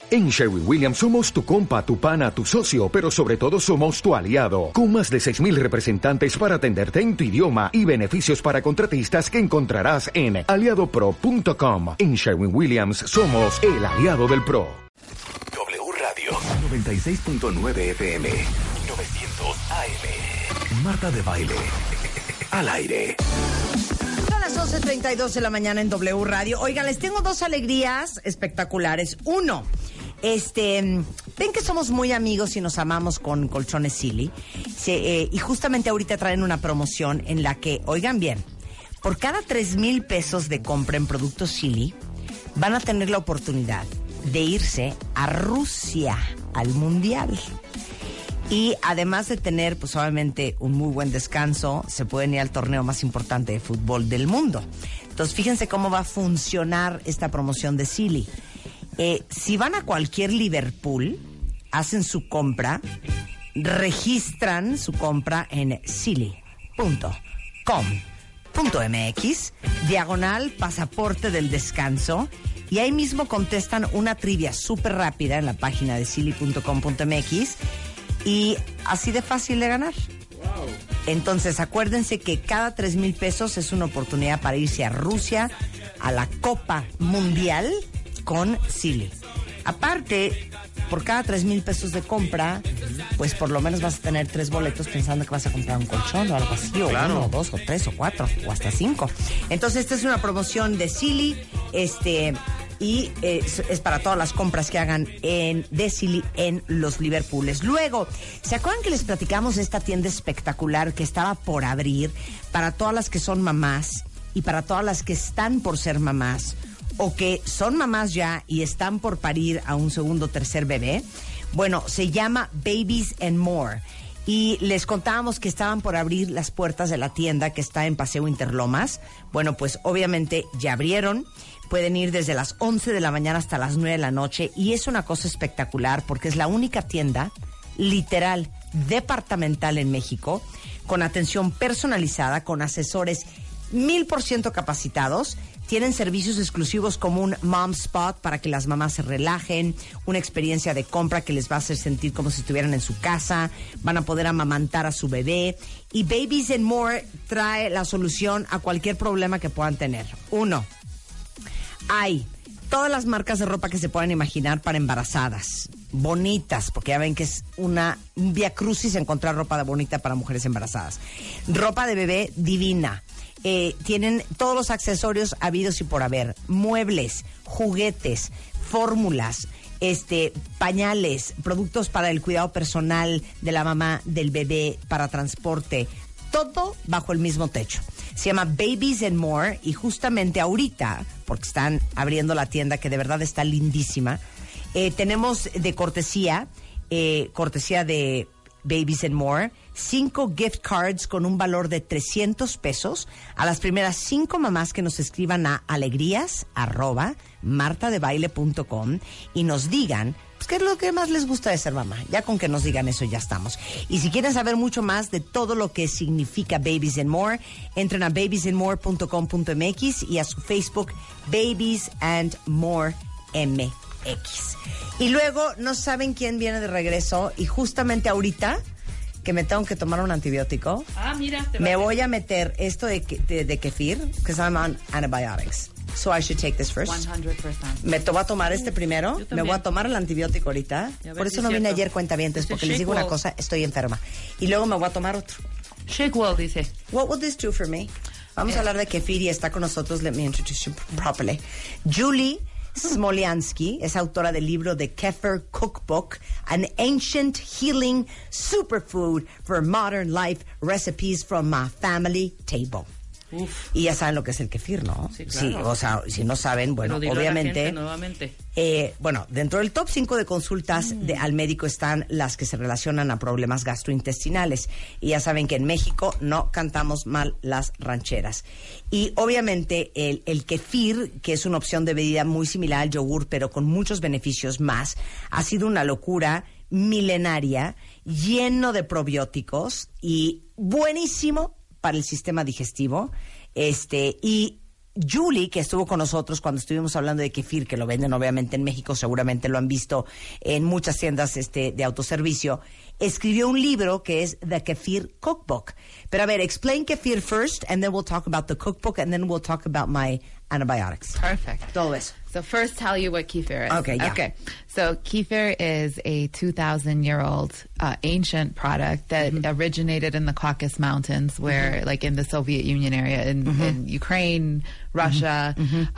En Sherwin-Williams somos tu compa, tu pana, tu socio, pero sobre todo somos tu aliado, con más de 6,000 representantes para atenderte en tu idioma y beneficios para contratistas que encontrarás en aliadopro.com. En Sherwin-Williams somos el aliado del pro. W Radio 96.9 FM 900 AM. Marta de Baile al aire. Son las 11:32 de la mañana en W Radio. Oigan, les tengo dos alegrías espectaculares. Uno, ven que somos muy amigos y nos amamos con Colchones Silly. Y justamente ahorita traen una promoción en la que, oigan bien, por cada 3,000 pesos de compra en productos Silly, van a tener la oportunidad de irse a Rusia al Mundial. Y además de tener, pues obviamente, un muy buen descanso, se pueden ir al torneo más importante de fútbol del mundo. Entonces, fíjense cómo va a funcionar esta promoción de Silly. Si van a cualquier Liverpool, hacen su compra, registran su compra en silly.com.mx/pasaporte del descanso, y ahí mismo contestan una trivia súper rápida en la página de silly.com.mx, y así de fácil de ganar. Wow. Entonces, acuérdense que cada 3,000 pesos es una oportunidad para irse a Rusia a la Copa Mundial con Silly. Aparte, por cada 3,000 pesos de compra, pues por lo menos vas a tener 3 boletos pensando que vas a comprar un colchón o algo así, o claro, 1, o 2, o 3, o 4, o hasta 5. Entonces, esta es una promoción de Silly, y es para todas las compras que hagan de Silly en los Liverpooles. Luego, ¿se acuerdan que les platicamos de esta tienda espectacular que estaba por abrir para todas las que son mamás y para todas las que están por ser mamás o que son mamás ya y están por parir a un segundo o tercer bebé? Bueno, se llama Babies and More. Y les contábamos que estaban por abrir las puertas de la tienda que está en Paseo Interlomas. Bueno, pues obviamente ya abrieron. Pueden ir desde las 11 de la mañana hasta las 9 de la noche. Y es una cosa espectacular porque es la única tienda literal departamental en México con atención personalizada, con asesores 1,000% capacitados. Tienen servicios exclusivos como un Mom Spot para que las mamás se relajen, una experiencia de compra que les va a hacer sentir como si estuvieran en su casa, van a poder amamantar a su bebé. Y Babies and More trae la solución a cualquier problema que puedan tener. 1. Hay todas las marcas de ropa que se puedan imaginar para embarazadas, bonitas, porque ya ven que es un viacrucis encontrar ropa bonita para mujeres embarazadas. Ropa de bebé divina. Tienen todos los accesorios habidos y por haber, muebles, juguetes, fórmulas, pañales, productos para el cuidado personal de la mamá, del bebé, para transporte, todo bajo el mismo techo. Se llama Babies and More, y justamente ahorita, porque están abriendo la tienda que de verdad está lindísima, tenemos de cortesía de Babies and More, 5 gift cards con un valor de 300 pesos a las primeras 5 mamás que nos escriban a alegrías@martadebaile.com y nos digan pues qué es lo que más les gusta de ser mamá. Ya con que nos digan eso ya estamos. Y si quieren saber mucho más de todo lo que significa Babies and More, entren a babiesandmore.com.mx y a su Facebook Babies and More MX. Y luego no saben quién viene de regreso, y justamente ahorita que me tengo que tomar un antibiótico, me voy a meter esto de kefir, because I'm on antibiotics. So I should take this first. 100%. Me voy a tomar este primero, me voy a tomar el antibiótico ahorita. Por eso no vine ayer, cuentavientes, porque les digo una cosa, estoy enferma. Y luego me voy a tomar otro. Shake well, dice. What will this do for me? Vamos a hablar de kefir y está con nosotros, let me introduce you properly, Julie Smolyansky es autora del libro The Kefir Cookbook, an ancient healing superfood for modern life, recipes from my family table. Uf. Y ya saben lo que es el kefir, ¿no? Sí, claro. Sí, o sea, si no saben, bueno, obviamente. Bueno, dentro del top 5 de consultas al médico están las que se relacionan a problemas gastrointestinales. Y ya saben que en México no cantamos mal las rancheras. Y obviamente el kefir, que es una opción de bebida muy similar al yogur, pero con muchos beneficios más, ha sido una locura milenaria, lleno de probióticos y buenísimo para el sistema digestivo, y Julie, que estuvo con nosotros cuando estuvimos hablando de kefir, que lo venden obviamente en México, seguramente lo han visto en muchas tiendas de autoservicio, escribió un libro que es The Kefir Cookbook. Pero a ver, explain kefir first, and then we'll talk about the cookbook, and then we'll talk about my antibiotics. Perfect. Todo eso. So first tell you what kefir is. Okay, yeah. Okay. So kefir is a 2,000-year-old ancient product that originated in the Caucasus Mountains, where, like in the Soviet Union area, in Ukraine, Russia,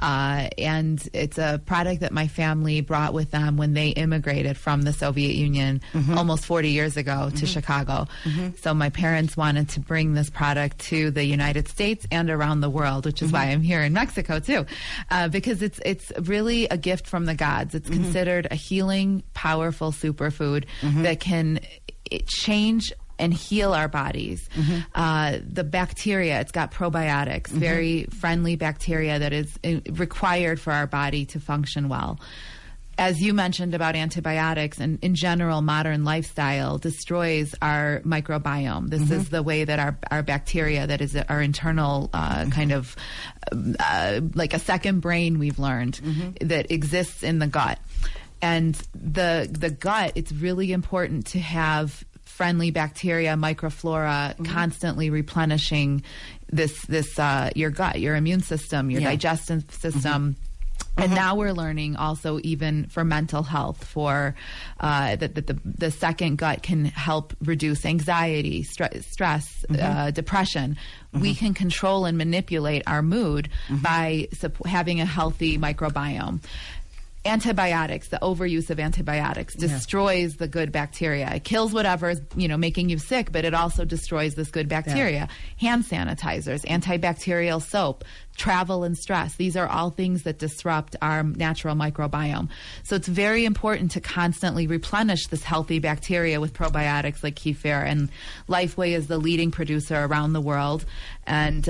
and it's a product that my family brought with them when they immigrated from the Soviet Union almost 40 years ago to Chicago. So my parents wanted to bring this product to the United States and around the world, which is why I'm here in Mexico too, because it's really a gift from the gods. It's considered a healing, powerful superfood that can change and heal our bodies. The bacteria, it's got probiotics, very friendly bacteria that is required for our body to function well. As you mentioned about antibiotics, and in general, modern lifestyle destroys our microbiome. This is the way that our bacteria, that is our internal kind of like a second brain, we've learned, that exists in the gut. And the gut, it's really important to have friendly bacteria, microflora, constantly replenishing this your gut, your immune system, your digestive system. And now we're learning also, even for mental health, for that the second gut can help reduce anxiety, stress, depression. We can control and manipulate our mood by having a healthy microbiome. Antibiotics, the overuse of antibiotics destroys the good bacteria. It kills whatever is, making you sick, but it also destroys this good bacteria. Hand sanitizers, antibacterial soap, travel and stress. These are all things that disrupt our natural microbiome. So it's very important to constantly replenish this healthy bacteria with probiotics like kefir. And Lifeway is the leading producer around the world. And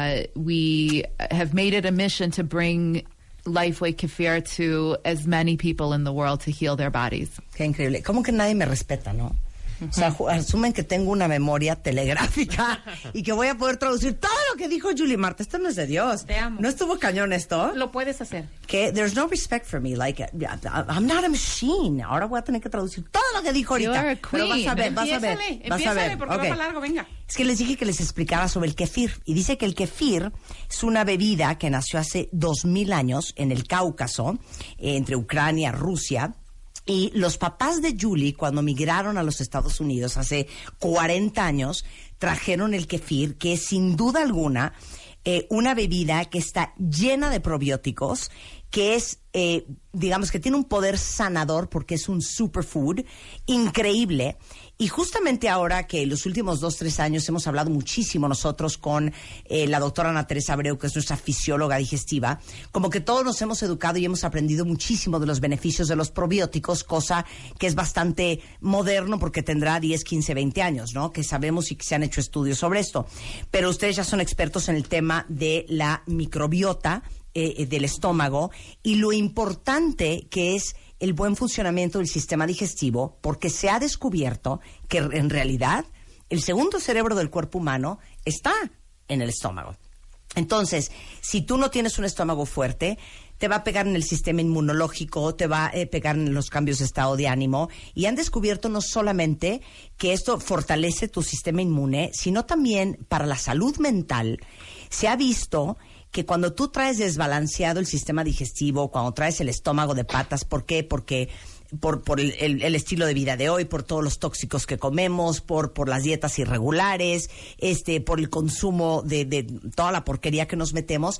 we have made it a mission to bring Lifeway kefir to as many people in the world to heal their bodies. Qué increíble. ¿Cómo que nadie me respeta, no? O sea, asumen que tengo una memoria telegráfica y que voy a poder traducir todo lo que dijo Julie Marta. Esto no es de Dios. Te amo. ¿No estuvo cañón esto? Lo puedes hacer. Que there's no respect for me. Like, I'm not a machine. Ahora voy a tener que traducir todo lo que dijo ahorita. You're a queen. Pero vas a ver. Empiézale, porque va para largo, venga. Es que les dije que les explicara sobre el kefir. Y dice que el kefir es una bebida que nació hace 2000 años en el Cáucaso, entre Ucrania, Rusia. Y los papás de Julie, cuando migraron a los Estados Unidos hace 40 años, trajeron el kefir, que es sin duda alguna una bebida que está llena de probióticos, que es, digamos que tiene un poder sanador porque es un superfood increíble. Y justamente ahora que los últimos 2-3 años hemos hablado muchísimo nosotros con la doctora Ana Teresa Abreu, que es nuestra fisióloga digestiva, como que todos nos hemos educado y hemos aprendido muchísimo de los beneficios de los probióticos, cosa que es bastante moderno porque tendrá 10, 15, 20 años, ¿no? Que sabemos y que se han hecho estudios sobre esto. Pero ustedes ya son expertos en el tema de la microbiota del estómago y lo importante que es el buen funcionamiento del sistema digestivo, porque se ha descubierto que en realidad el segundo cerebro del cuerpo humano está en el estómago. Entonces, si tú no tienes un estómago fuerte, te va a pegar en el sistema inmunológico, te va a pegar en los cambios de estado de ánimo, y han descubierto no solamente que esto fortalece tu sistema inmune, sino también para la salud mental. Se ha visto que cuando tú traes desbalanceado el sistema digestivo, cuando traes el estómago de patas, ¿por qué? Porque por el estilo de vida de hoy, por todos los tóxicos que comemos, por las dietas irregulares, por el consumo de toda la porquería que nos metemos,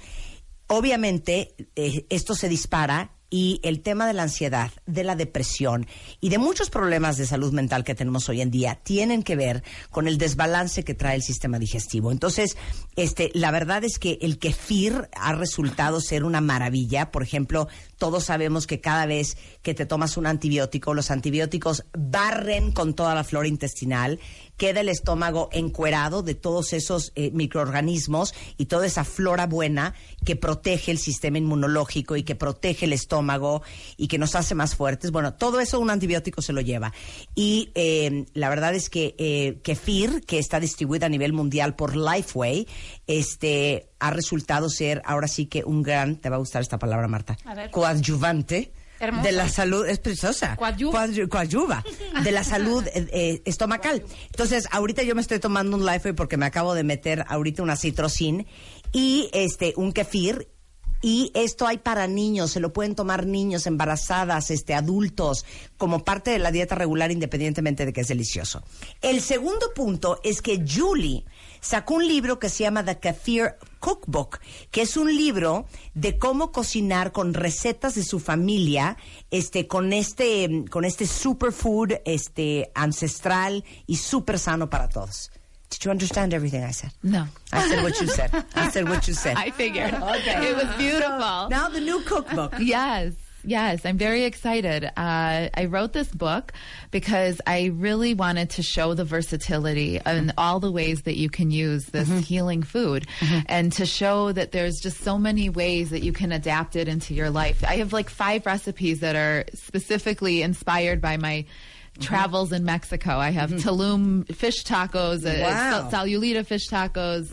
obviamente esto se dispara. Y el tema de la ansiedad, de la depresión y de muchos problemas de salud mental que tenemos hoy en día tienen que ver con el desbalance que trae el sistema digestivo. Entonces, la verdad es que el kefir ha resultado ser una maravilla. Por ejemplo, todos sabemos que cada vez que te tomas un antibiótico, los antibióticos barren con toda la flora intestinal, queda el estómago encuerado de todos esos microorganismos y toda esa flora buena que protege el sistema inmunológico y que protege el estómago y que nos hace más fuertes. Bueno, todo eso un antibiótico se lo lleva. Y la verdad es que Kefir, que está distribuida a nivel mundial por Lifeway, ha resultado ser ahora sí que un gran, te va a gustar esta palabra, Marta, coadyuvante. Hermosa. De la salud, es preciosa. Coadyuva. De la salud estomacal. Entonces, ahorita yo me estoy tomando un Lifeway porque me acabo de meter ahorita una Citrocin y un kefir. Y esto hay para niños, se lo pueden tomar niños, embarazadas, adultos, como parte de la dieta regular, independientemente de que es delicioso. El segundo punto es que Julie sacó un libro que se llama The Kefir Cookbook, que es un libro de cómo cocinar con recetas de su familia, con este superfood, ancestral y súper sano para todos. Did you understand everything I said? No. I said what you said. I said what you said. I figured. Okay. It was beautiful. So, now the new cookbook. Yes, I'm very excited. I wrote this book because I really wanted to show the versatility and all the ways that you can use this healing food and to show that there's just so many ways that you can adapt it into your life. I have like 5 recipes that are specifically inspired by my travels in Mexico. I have Tulum fish tacos, Sayulita fish tacos.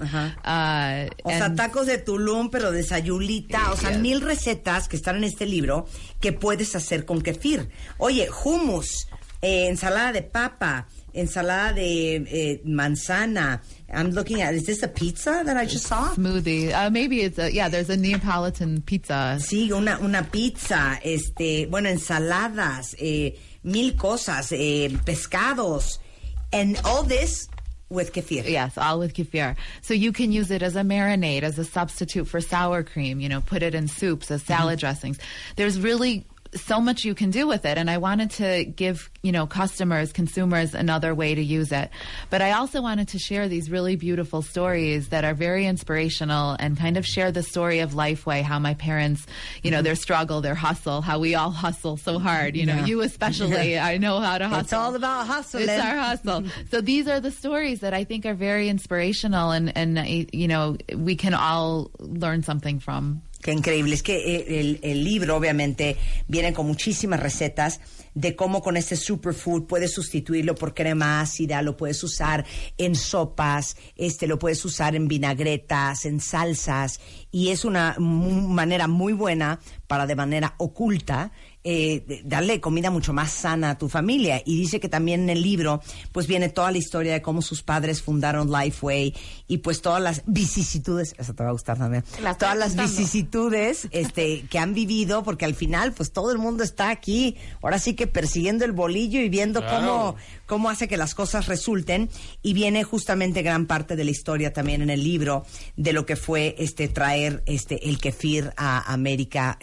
O sea, tacos de Tulum, pero de Sayulita. O sea, 1000 recetas que están en este libro que puedes hacer con kefir. Oye, hummus, ensalada de papa, ensalada de manzana. I'm looking at, is this a pizza that I just saw? Smoothie. Maybe it's there's a Neapolitan pizza. Sí, una pizza, bueno, ensaladas, 1000 cosas, pescados, and all this with kefir. Yes, all with kefir. So you can use it as a marinade, as a substitute for sour cream, put it in soups, as salad dressings. There's really so much you can do with it, and I wanted to give customers, consumers another way to use it. But I also wanted to share these really beautiful stories that are very inspirational and kind of share the story of Lifeway, how my parents, their struggle, their hustle, how we all hustle so hard, you especially. I know how to hustle. It's all about hustling. It's our hustle. So these are the stories that I think are very inspirational and we can all learn something from. Qué increíble. Es que el libro, obviamente, viene con muchísimas recetas de cómo con este superfood puedes sustituirlo por crema ácida, lo puedes usar en sopas, lo puedes usar en vinagretas, en salsas, y es una manera muy buena para, de manera oculta, darle comida mucho más sana a tu familia. Y dice que también en el libro pues viene toda la historia de cómo sus padres fundaron Lifeway y pues todas las vicisitudes, eso te va a gustar también, todas las vicisitudes que han vivido, porque al final pues todo el mundo está aquí, ahora sí que persiguiendo el bolillo y viendo cómo hace que las cosas resulten. Y viene justamente gran parte de la historia también en el libro de lo que fue traer el kefir a América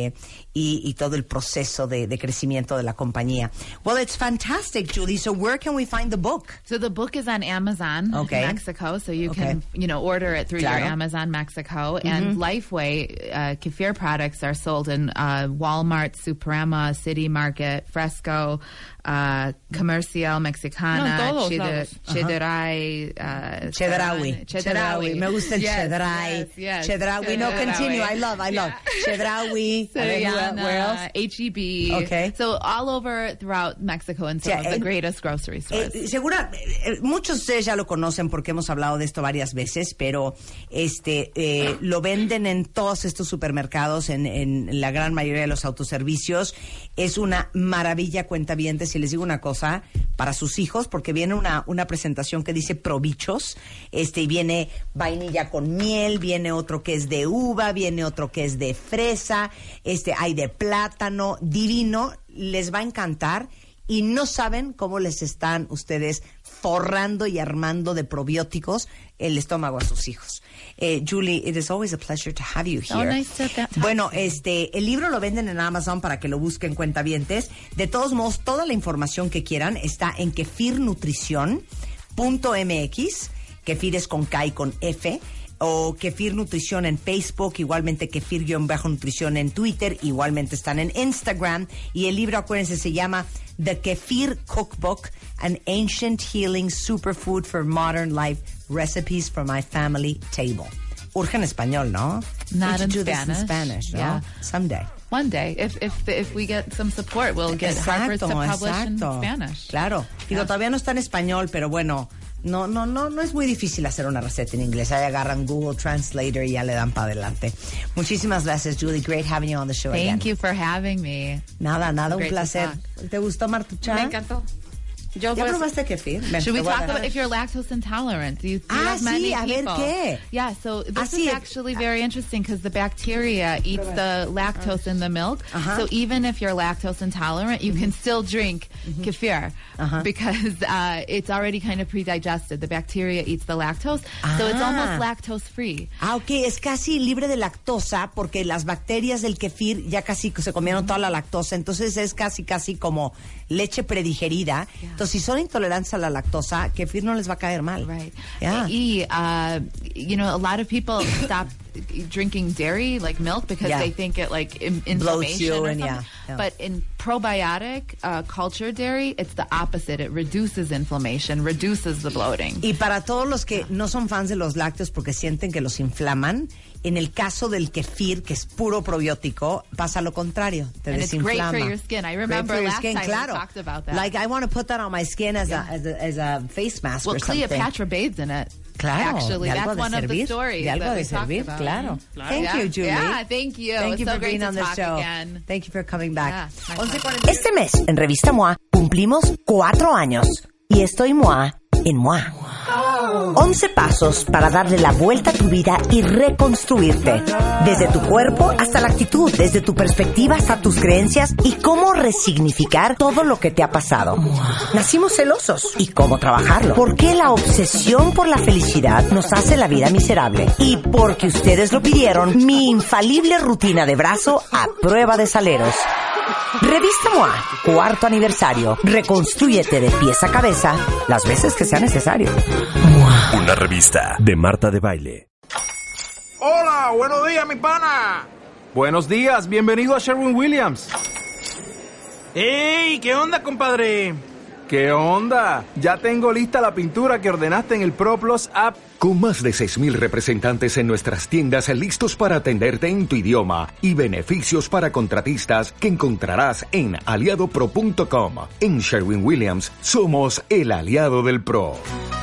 y todo el proceso de crecimiento de la compañía. Well, it's fantastic, Julie. So where can we find the book? So the book is on Amazon Mexico, so you can order it through your Amazon Mexico. And Lifeway kefir products are sold in Walmart, Suprema, City Market, Fresco, Comercial Mexicana, Chedraui. Me gusta el Chedraui. Chedraui. No, continue. I love. Chedraui. Where else? H-E-B. Okay. So all over throughout Mexico and some of the greatest grocery stores. Muchos de ustedes ya lo conocen porque hemos hablado de esto varias veces, pero lo venden en todos estos supermercados, en la gran mayoría de los autoservicios. Es una maravilla, cuentavientes. Y les digo una cosa, para sus hijos, porque viene una presentación que dice probichos, y viene vainilla con miel, viene otro que es de uva, viene otro que es de fresa, hay de plátano, divino, les va a encantar y no saben cómo les están ustedes forrando y armando de probióticos el estómago a sus hijos. Julie, it is always a pleasure to have you here. Oh, nice to talk. Bueno, el libro lo venden en Amazon para que lo busquen, cuentavientes. De todos modos, toda la información que quieran está en kefirnutrición.mx. Kefir es con K y con F. O Kefir Nutrición en Facebook, igualmente Kefir-Nutrición en Twitter, igualmente están en Instagram. Y el libro, acuérdense, se llama The Kefir Cookbook, an ancient healing superfood for modern life, recipes for my family table. Urge en español, ¿no? Not in do Spanish. This in Spanish, ¿no? Yeah. Someday. One day, if we get some support, we'll get Harper's to publish in Spanish. Claro. Digo, todavía no está en español, pero bueno, no es muy difícil hacer una receta en inglés. Ahí agarran Google Translator y ya le dan para adelante. Muchísimas gracias, Julie. Great having you on the show again. Thank you for having me. Nada, un placer. ¿Te gustó, Martucha? Me encantó. ¿Ya probaste kefir? Should we talk about if you're lactose intolerant? Do you have many sí, people? A ver, ¿qué? Yeah, so this is actually very interesting because the bacteria eats the lactose in the milk. So even if you're lactose intolerant, you can still drink kefir because it's already kind of pre-digested. The bacteria eats the lactose, so it's almost lactose-free. Ok, es casi libre de lactosa porque las bacterias del kefir ya casi se comieron toda la lactosa, entonces es casi como leche predigerida. Entonces, si son intolerantes a la lactosa, kefir no les va a caer mal. Right. Yeah. You know, a lot of people stop drinking dairy, like milk, because they think it like inflammation or something. Yeah. But in probiotic cultured dairy, it's the opposite. It reduces inflammation, reduces the bloating. Y para todos los que no son fans de los lácteos porque sienten que los inflaman, en el caso del kefir, que es puro probiótico, pasa lo contrario, te and desinflama. It's great for your skin. I remember last time we talked about that. Like, I want to put that on my skin as a face mask or something. Well, Cleopatra bathes in it. Claro, actually, that's one of the stories de algo that de we servir, talked about. claro. Thank you, Julie. Yeah, thank you. Thank you so for great being on to the talk show. Again. Thank you for coming back. Yeah, este mes, en Revista MOA, cumplimos 4 años. Y estoy MOA en MOA. 11 pasos para darle la vuelta a tu vida y reconstruirte. Desde tu cuerpo hasta la actitud, desde tu perspectiva hasta tus creencias y cómo resignificar todo lo que te ha pasado. Nacimos celosos y cómo trabajarlo. ¿Por qué la obsesión por la felicidad nos hace la vida miserable? Y porque ustedes lo pidieron, mi infalible rutina de brazo a prueba de saleros. Revista MOA, 4º aniversario. Reconstrúyete de pies a cabeza las veces que sea necesario. MOA. Una revista de Marta de Baile. Hola, buenos días, mi pana. Buenos días, bienvenido a Sherwin-Williams. ¡Ey! ¿Qué onda, compadre? ¿Qué onda? Ya tengo lista la pintura que ordenaste en el ProPlus app. Con más de 6,000 representantes en nuestras tiendas listos para atenderte en tu idioma y beneficios para contratistas que encontrarás en aliadopro.com. En Sherwin-Williams somos el aliado del pro.